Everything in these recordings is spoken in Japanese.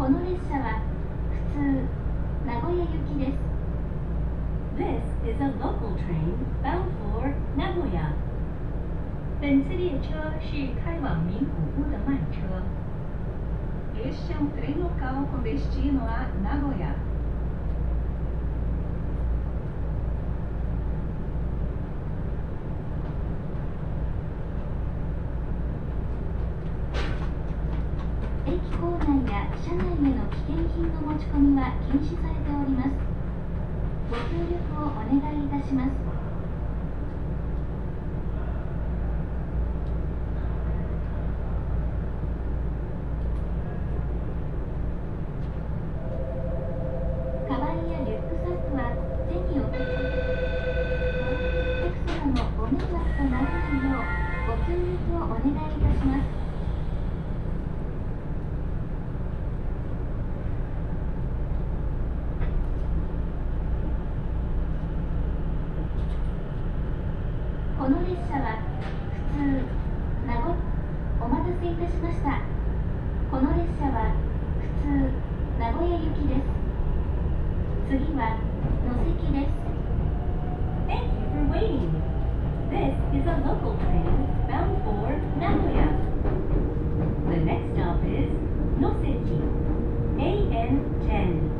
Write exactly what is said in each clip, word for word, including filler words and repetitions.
この列車は普通名古屋行きです。 This is a local train bound for Nagoya. 本次列车是开往名古屋的慢车。Este é um trem local com destino a Nagoya. 駅構内や車内への危険品の持ち込みは禁止されております。ご協力をお願いいたします。カバンやリュックサックは手に置き、お客様のご迷惑とならないようご協力をお願いいたします。この列車は普通名古屋お待たせいたしました。この列車は普通名古屋行きです。次は野関です。 Thank you for waiting. This is a local train bound for Nagoya. The next stop is Noseki, A N ten.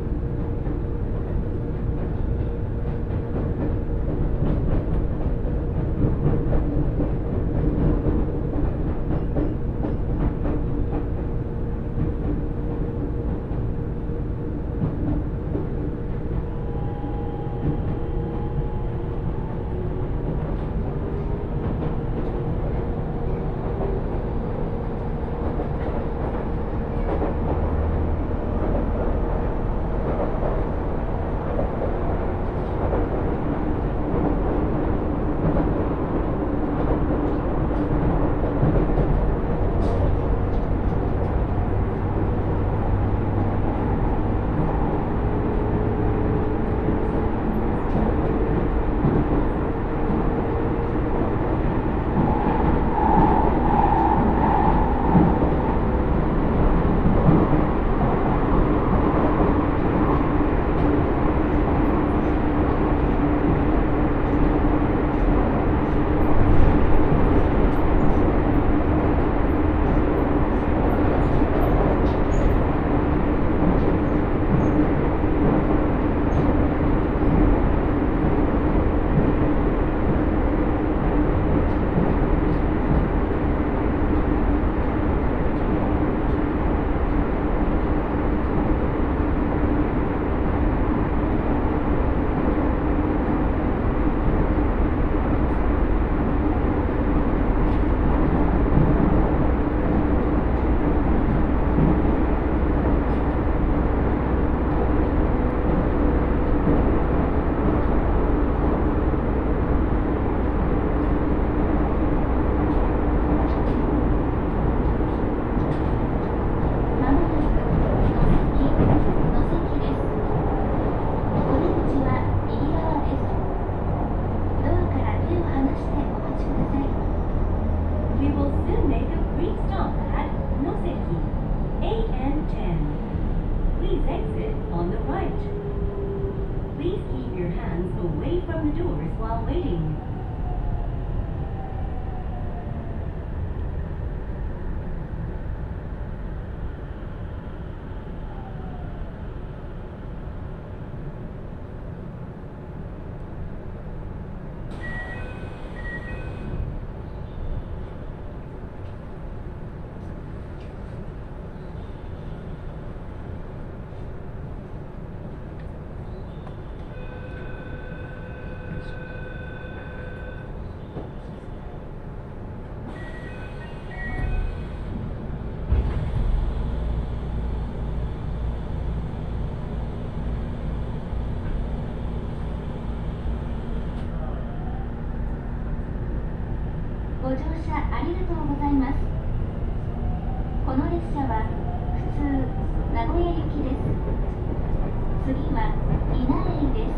ご乗車ありがとうございます。この列車は普通名古屋行きです。次は稲荷です。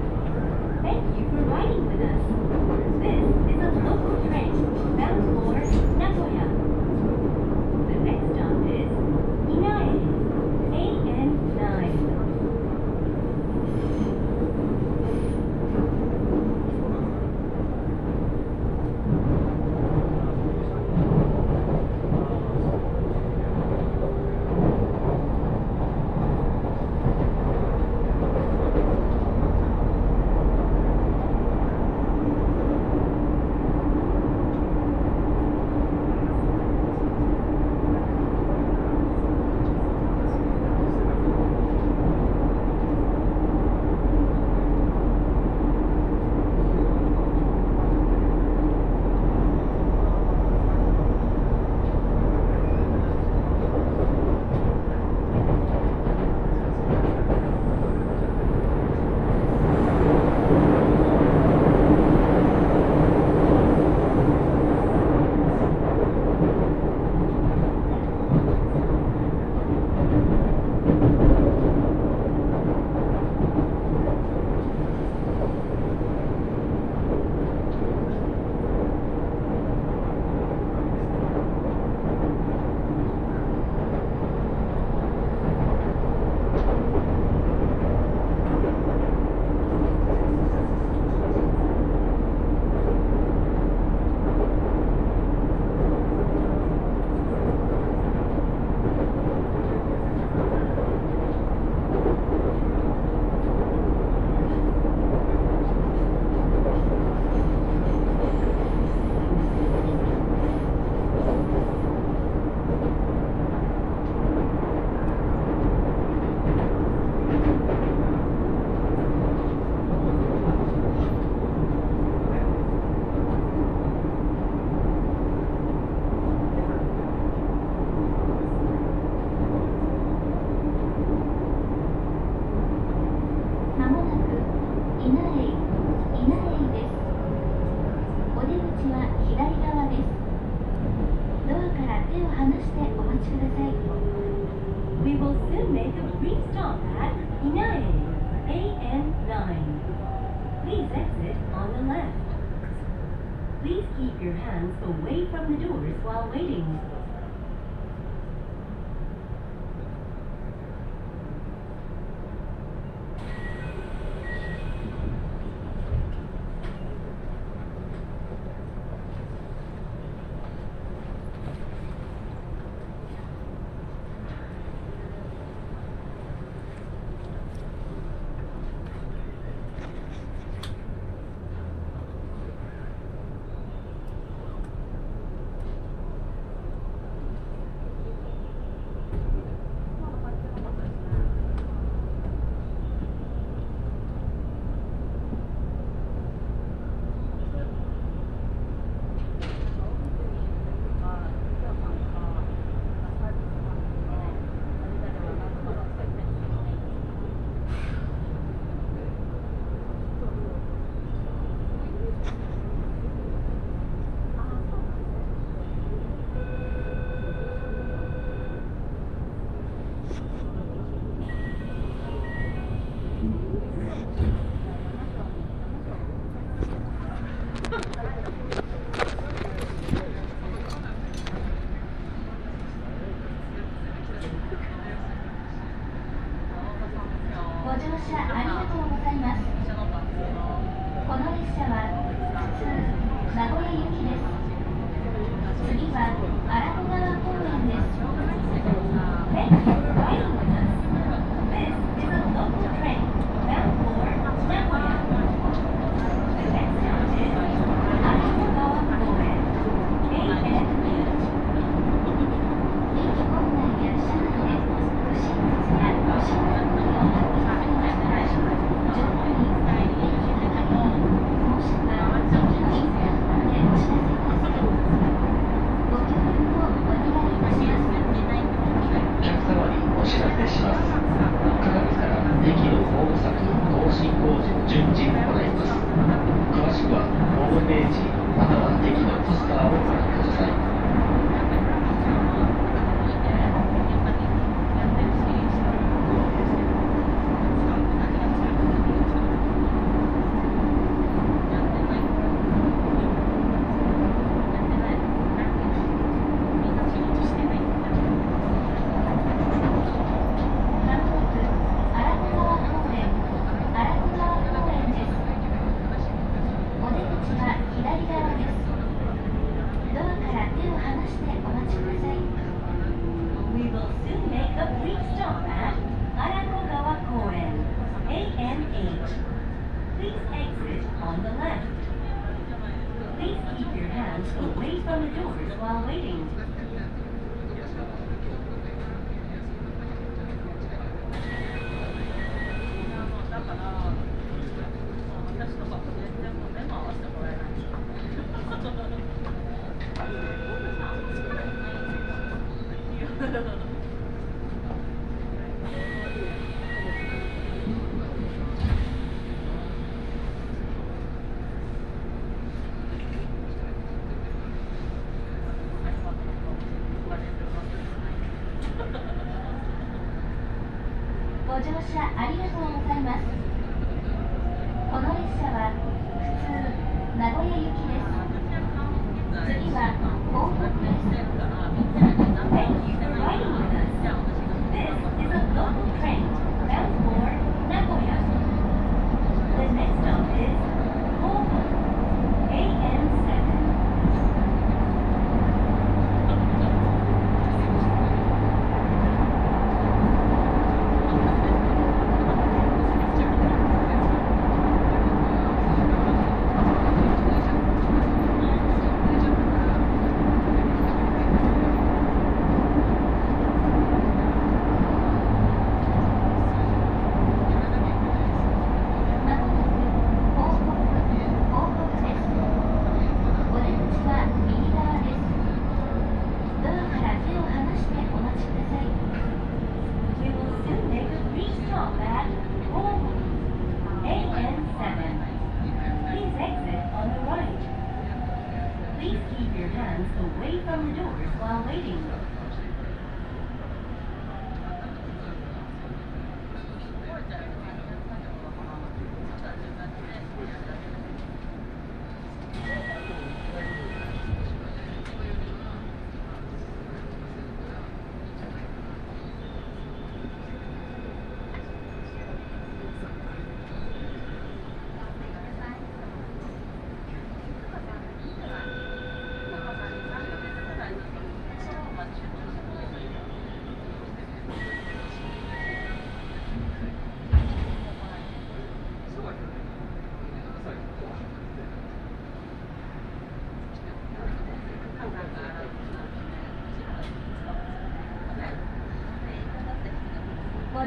Thank you for riding with us. This is a local train bound for Nagoya. The next stop is Inae. してお待ちください。 We will soon make a brief stop at Inae, A N nine. Please exit on the left. Please keep your hands away from the doors while waiting. ご乗車ありがとうございます。この列車は普通名古屋行きです。次は荒子川公園です。 Thank you for riding with us. This is a local train bound for Nagoya. The next stop is Arakogawa Koen, A N eight. 駅構内や車内で不審物や不審な行為を発見されましたら、上手に駅係員もしくは駅のインターホンでお知らせください。ご協力をお願いいたします。 お客様にお知らせします。くがつから駅のホーム柵更新工事を順次行います。詳しくはホームページまたは駅のポスターをご覧ください。 We will soon make a brief stop at Arakogawa Koen, A N eight. Please exit on the left. Please keep your hands away from the doors while waiting. ご乗車ありがとうございます。この列車は普通名古屋行きです。次は東北です。 Thank you for riding with us. This is a local train bound for Nagoya. The next stop is Kobe, A N seven.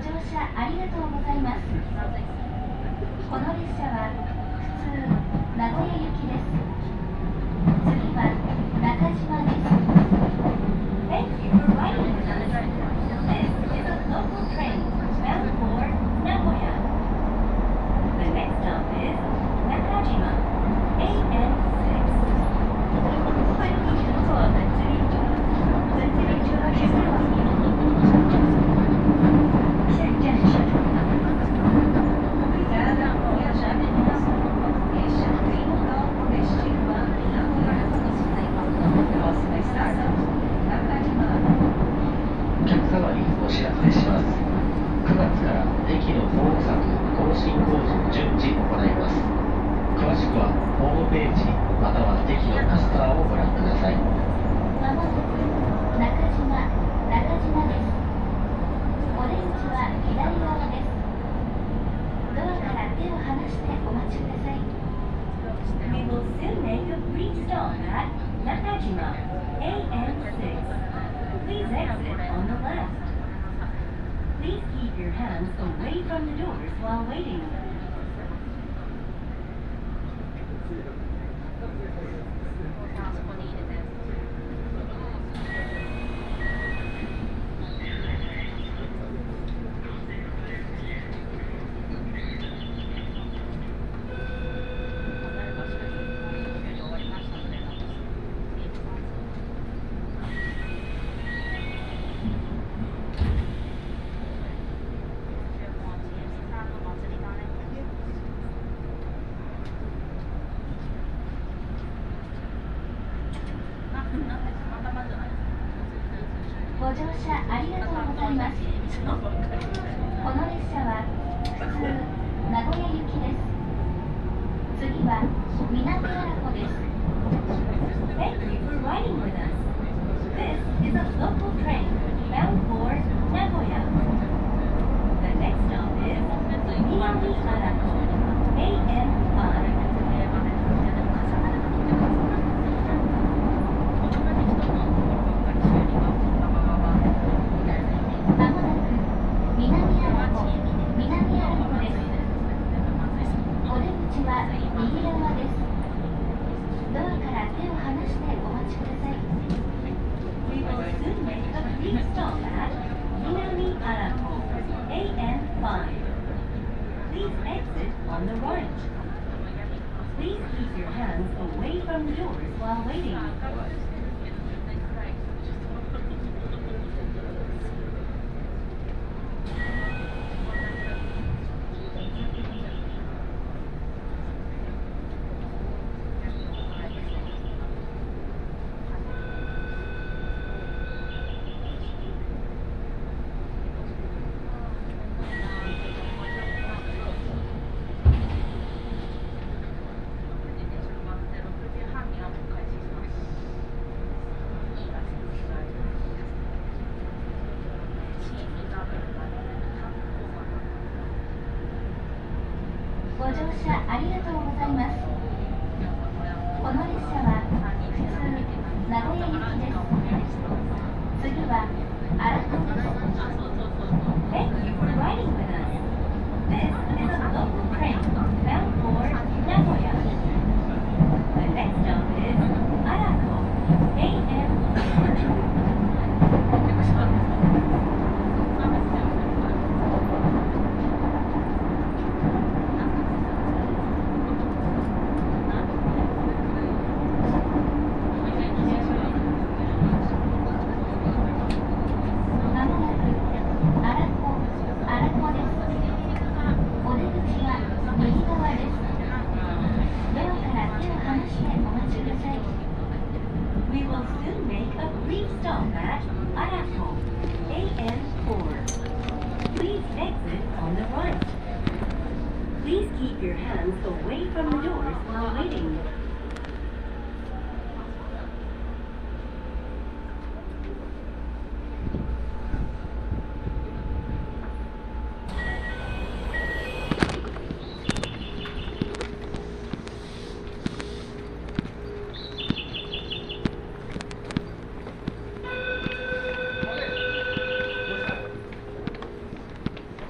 乗車ありがとうございます。この列車は普通名古屋行きです。次は中島です。 Thank you for riding with us. This is a local train bound for Nagoya. The next stop is Nakajima, A N six. 欢迎乘坐本次列车，本次列车是开往名古屋的列车，下一站是中岛。Obrigada por viajar conosco. Este é o trem local com destino a Nagoya. Próxima estação, Nakajima. お客様にお知らせします。くがつから駅のホーム柵更新工事を順次行います。詳しくはホームページまたは駅のポスターをご覧ください。 まもなく中島、中島です。お出口は左側です。ドアから手を離してお待ちください。 We will soon make a brief stop at Nakajima, A N six. Please exit on the left. Please keep your hands away from the doors while waiting. ご乗車ありがとうございます。この列車は普通名古屋行きです。次は南荒子です。 Thank you for riding with us. This is a local train bound for Nagoya. The next stop is Minami Arako, A N five. まもなく南荒子、南荒子です。お出口は右側です。ドアから手を離してお待ちください。 We will soon make a brief stop at Minami Arako, A N five. Please exit on the right. Please keep your hands away from the doors while waiting. ご乗車ありがとうございます。この列車は普通名古屋行きです。次は荒川です。 Thank you for riding with us. This is a local train bound for Nagoya. The next stop is Arako, A N four. まもなく荒子、荒子です。お出口は右側です。ドアから手を離してお待ちください。 We will soon make a brief stop at Arako, A N four. Please exit on the right. Please keep your hands away from the doors while waiting. お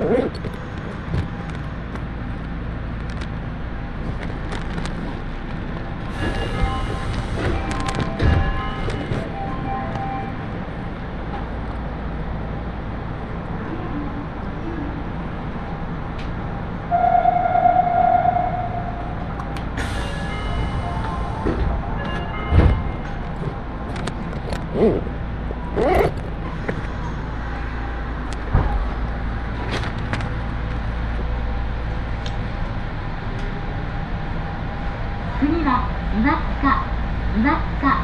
次は岩塚、岩塚。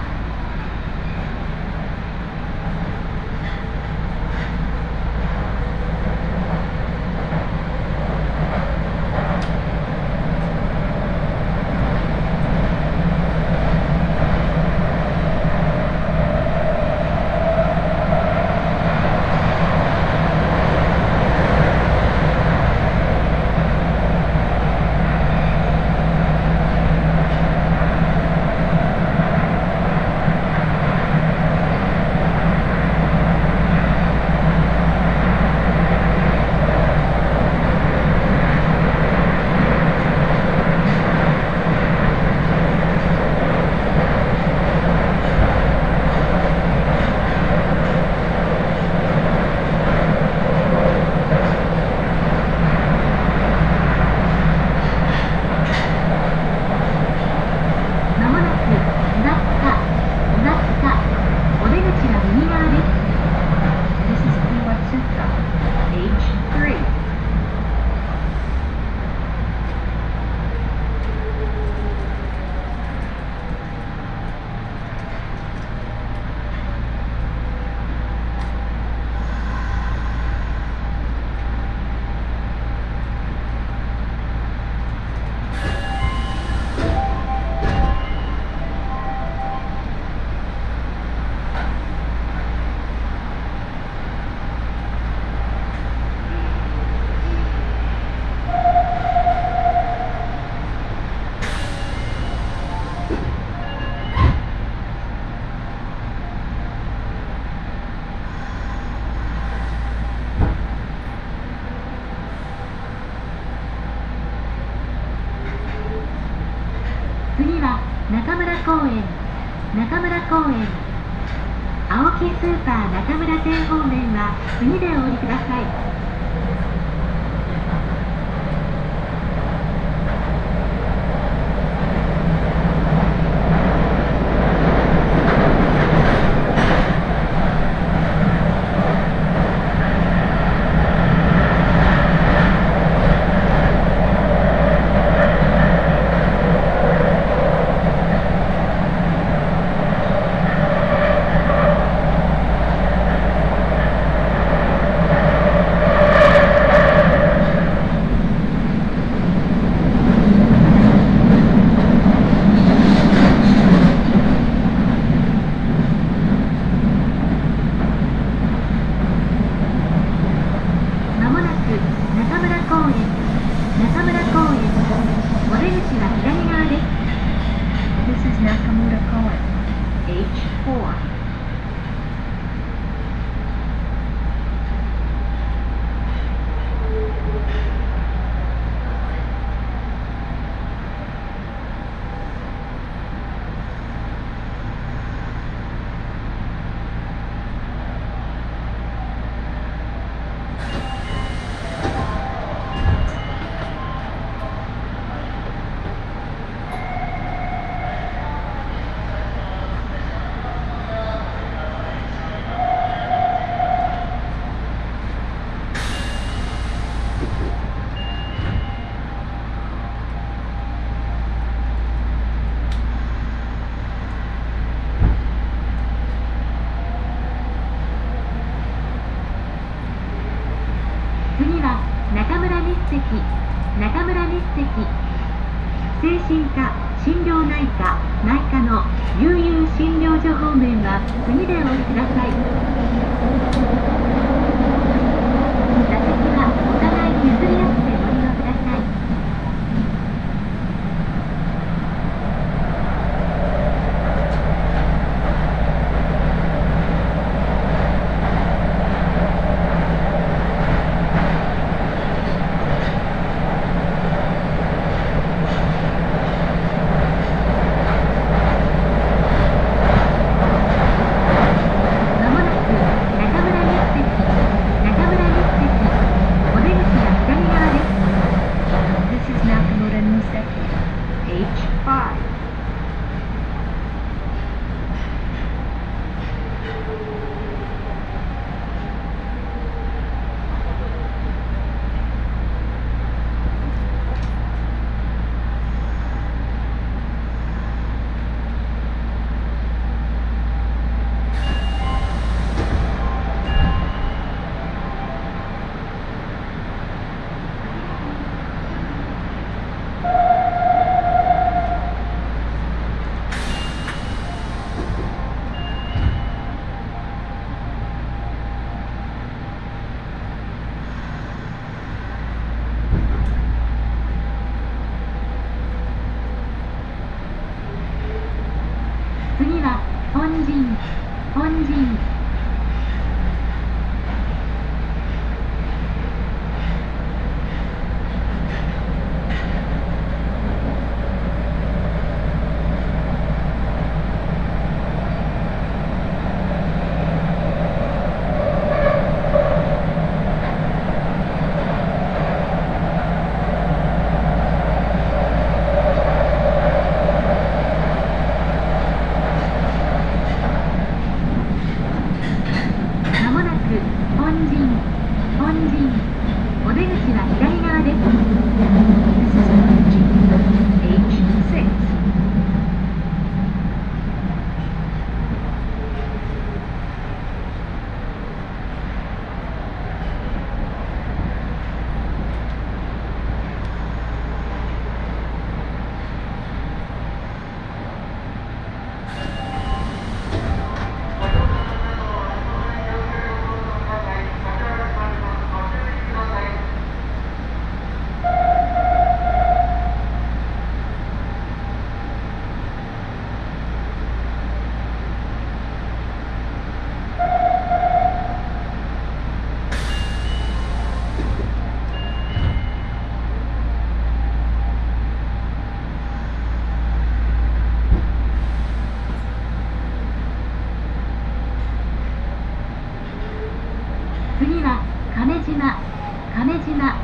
次は中村公園、中村公園。青木スーパー中村店方面は次でお降りください。次は中村日赤、中村日赤。精神科、心療内科、内科の悠々診療所方面は次でお降りください。座席はお互い譲り合ってご利用ください。 本陣本陣お出口は左側です。 This is Honjin,エイチシックス. 次は亀島亀島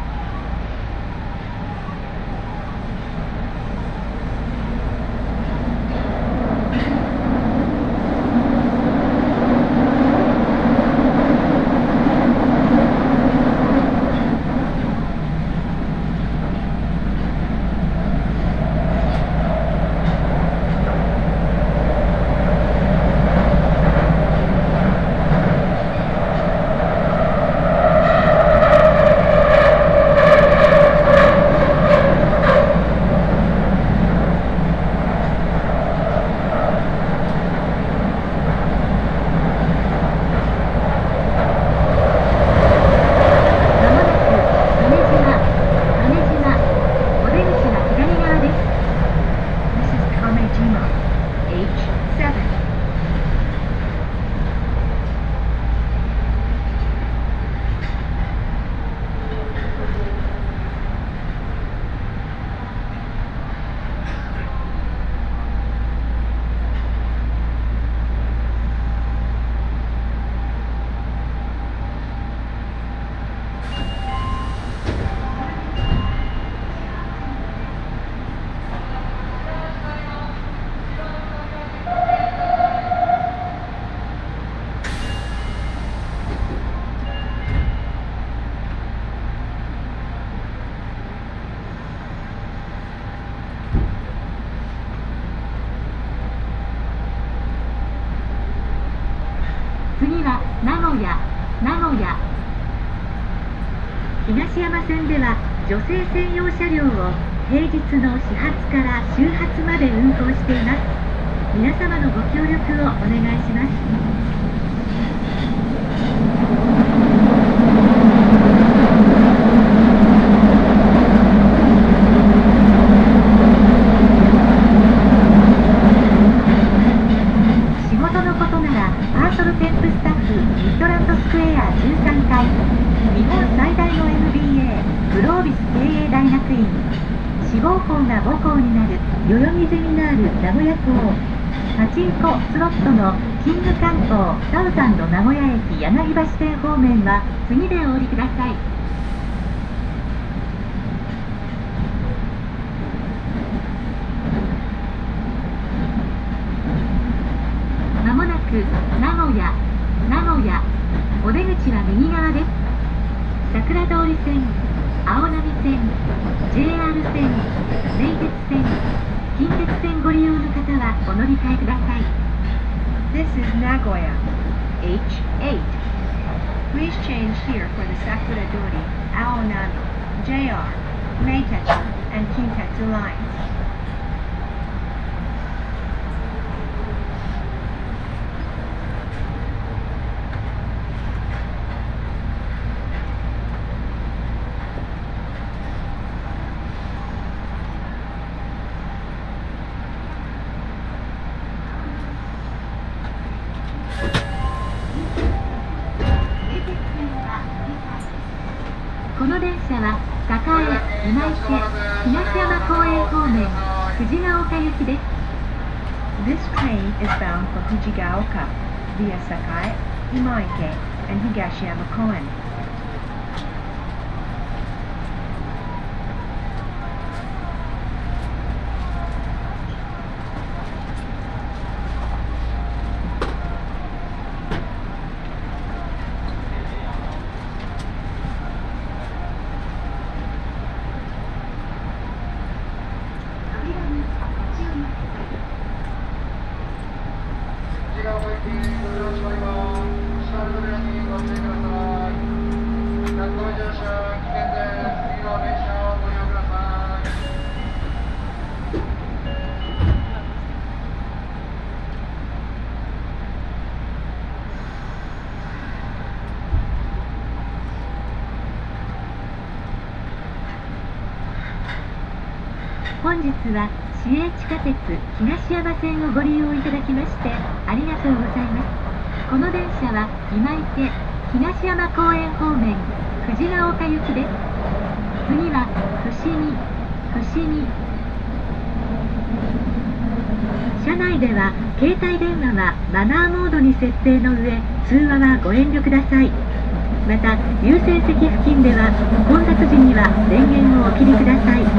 次は名古屋名古屋東山線では女性専用車両を平日の始発から終発まで運行しています。皆様のご協力をお願いします。志望校が母校になる代々木ゼミナール名古屋校パチンコスロットのキング観光サウザンド名古屋駅柳橋線方面は次でお降りください。まもなく名古屋名古屋お出口は右側です。桜通り線青波線 ジェイアール 線名鉄線近鉄線ご利用の方はお乗り換えください。 This is Nagoya,エイチエイト. Please change here for the Sakuradori, Aonami, ジェイアール, Meitetsu, and Kintetsu lines. この電車は栄、今池、東山公園方面、藤ヶ丘行きです。 This train is bound for Fujigaoka via Sakai, Imaike, and Higashiyama Koen. 「 本日は市営地下鉄東山線をご利用いただきましてありがとうございます。この電車は今池東山公園方面藤が丘行きです。次は伏見伏見。車内では携帯電話はマナーモードに設定の上、通話はご遠慮ください。また優先席付近では混雑時には電源をお切りください。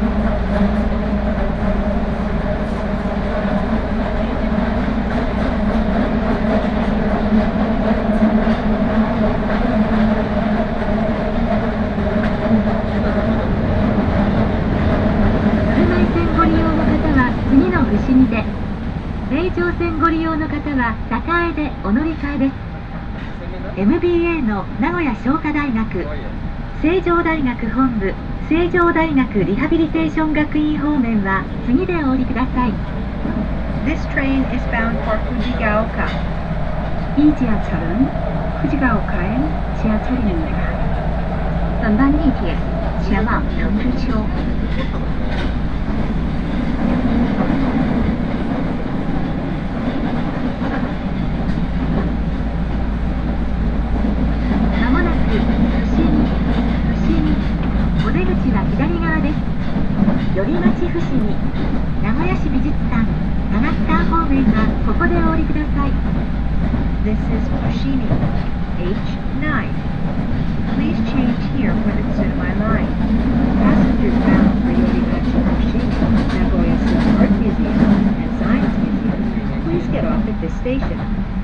伏見で、名城線ご利用の方は栄でお乗り換えです。 エムビーエー の名古屋商科大学、成城大学本部、成城大学リハビリテーション学院方面は次でお降りください。 This train is bound for 후지가오카. 이 지하철은 후지가오카행 지하철입니다.本班地铁前往能之丘。寄町伏見、名古屋市美術館、長津川方面はここでお降りください。 This is Fushimi, H nine. Please change here for the Tsurumae line. Passengers bound for Yorimachi Fushimi, Nagoya City Art Museum and Science Museum, please get off at this station.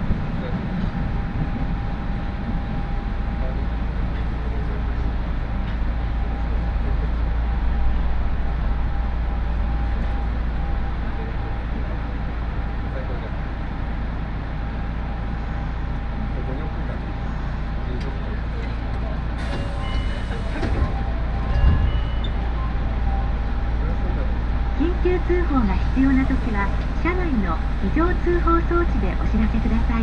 緊急通報が必要なときは車内の非常通報装置でお知らせください。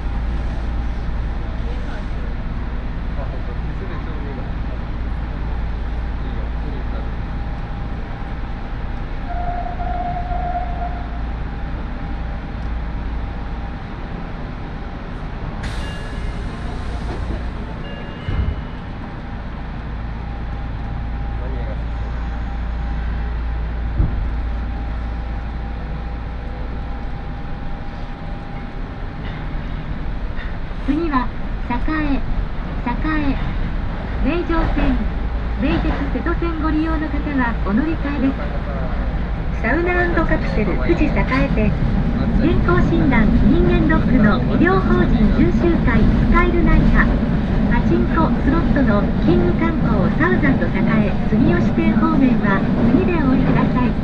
次は栄、栄、名城線、名鉄瀬戸線ご利用の方はお乗り換えです。サウナ&カプセル富士栄店、健康診断人間ドックの医療法人重集会スカイルナイハ、パチンコスロットのキング観光サウザンド栄住吉店方面は次でお降りください。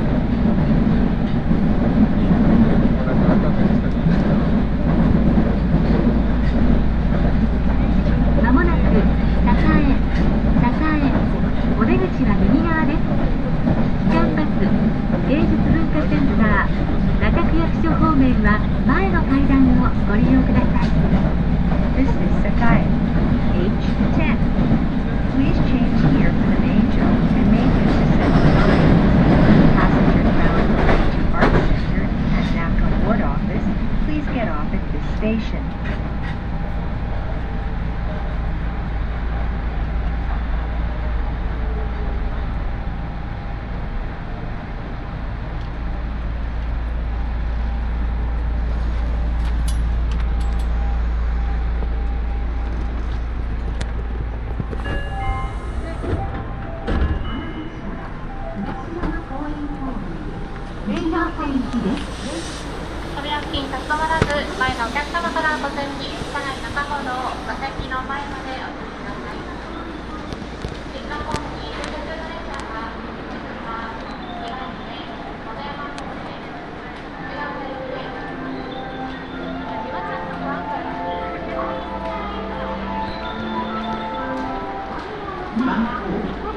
まもなく栄、栄、お出口は右側です。キャンパス芸術文化センター中区役所方面は前の階段をご利用ください。 This is Sakai, H ten. Please change here for the main joke and main assistant line. Passengers bound to Art Center and Naka Ward Office, please get off at this station. Bangkok.